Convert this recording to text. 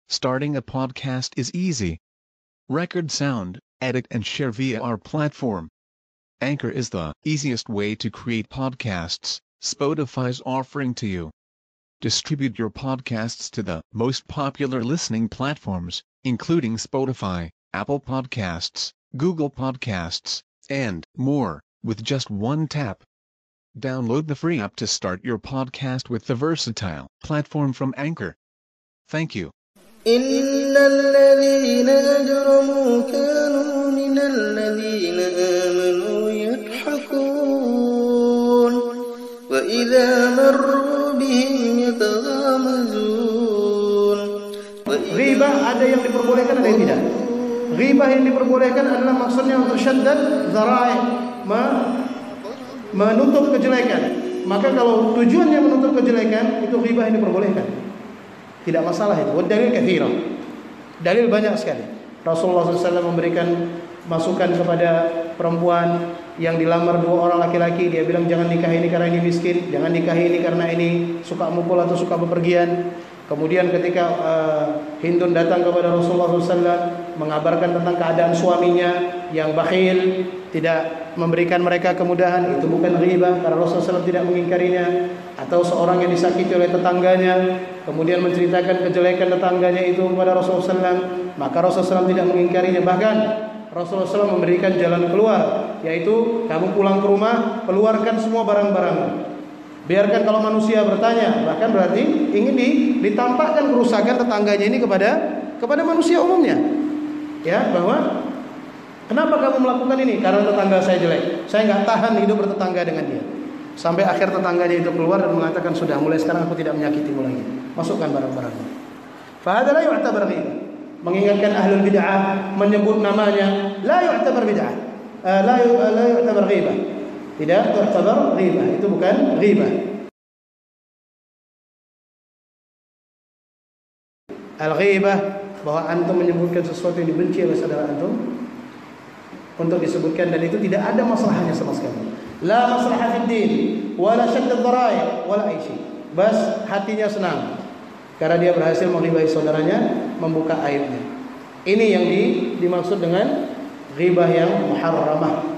Starting a podcast is easy. Record sound, edit and share via our platform. Anchor is the easiest way to create podcasts. Spotify's offering to you. Distribute your podcasts to the most popular listening platforms, including Spotify, Apple Podcasts, Google Podcasts, and more, with just one tap. Download the free app to start your podcast with the versatile platform from Anchor. Thank you. إن الذين أجرموا كانوا من الذين آمنوا يضحكون وإذا مروا بهم يتغامزون. Ghibah ada yang diperbolehkan, ada yang tidak. Ghibah yang diperbolehkan adalah maksudnya untuk syaddad dzara'i, menutup kejelekan. Maka kalau tujuannya menutup kejelekan, itu ghibah yang diperbolehkan. Tidak masalah itu. Dalil katsira. Dalil banyak sekali. Rasulullah SAW memberikan masukan kepada perempuan yang dilamar dua orang laki-laki. Dia bilang jangan nikah ini karena ini miskin, jangan nikah ini karena ini suka mukul atau suka bepergian. Kemudian ketika Hindun datang kepada Rasulullah SAW mengabarkan tentang keadaan suaminya yang bakhil, tidak memberikan mereka kemudahan, itu bukan ghibah karena Rasulullah SAW tidak mengingkarinya. Atau seorang yang disakiti oleh tetangganya kemudian menceritakan kejelekan tetangganya itu kepada Rasulullah SAW, maka Rasulullah SAW tidak mengingkarinya. Bahkan Rasulullah SAW memberikan jalan keluar, yaitu kamu pulang ke rumah, keluarkan semua barang-barang. Biarkan kalau manusia bertanya, bahkan berarti ingin ditampakkan kerusakan tetangganya ini kepada manusia umumnya. Ya, bahwa kenapa kamu melakukan ini? Karena tetangga saya jelek. Saya nggak tahan hidup bertetangga dengan dia. Sampai akhir tetangganya itu keluar dan mengatakan sudah, mulai sekarang aku tidak menyakitimu lagi. Masukkan barang-barangnya. Fahada la yu'tabar ghibah. Mengingatkan ahlul bid'ah, menyebut namanya, la yu'tabar bid'ah. La yu'tabar ghibah. Tidak tu'tabar ghibah, itu bukan ghibah. Al-ghibah, bahwa antum menyebutkan sesuatu yang dibenci oleh saudara antum untuk disebutkan, dan itu tidak ada masalahnya sama sekali. La maslahat fid din, wala syadd ad-dhara'i, wala ai syai. Bas hatinya senang karena dia berhasil menghibahi saudaranya, membuka aibnya. Ini yang dimaksud dengan ghibah yang muharramah.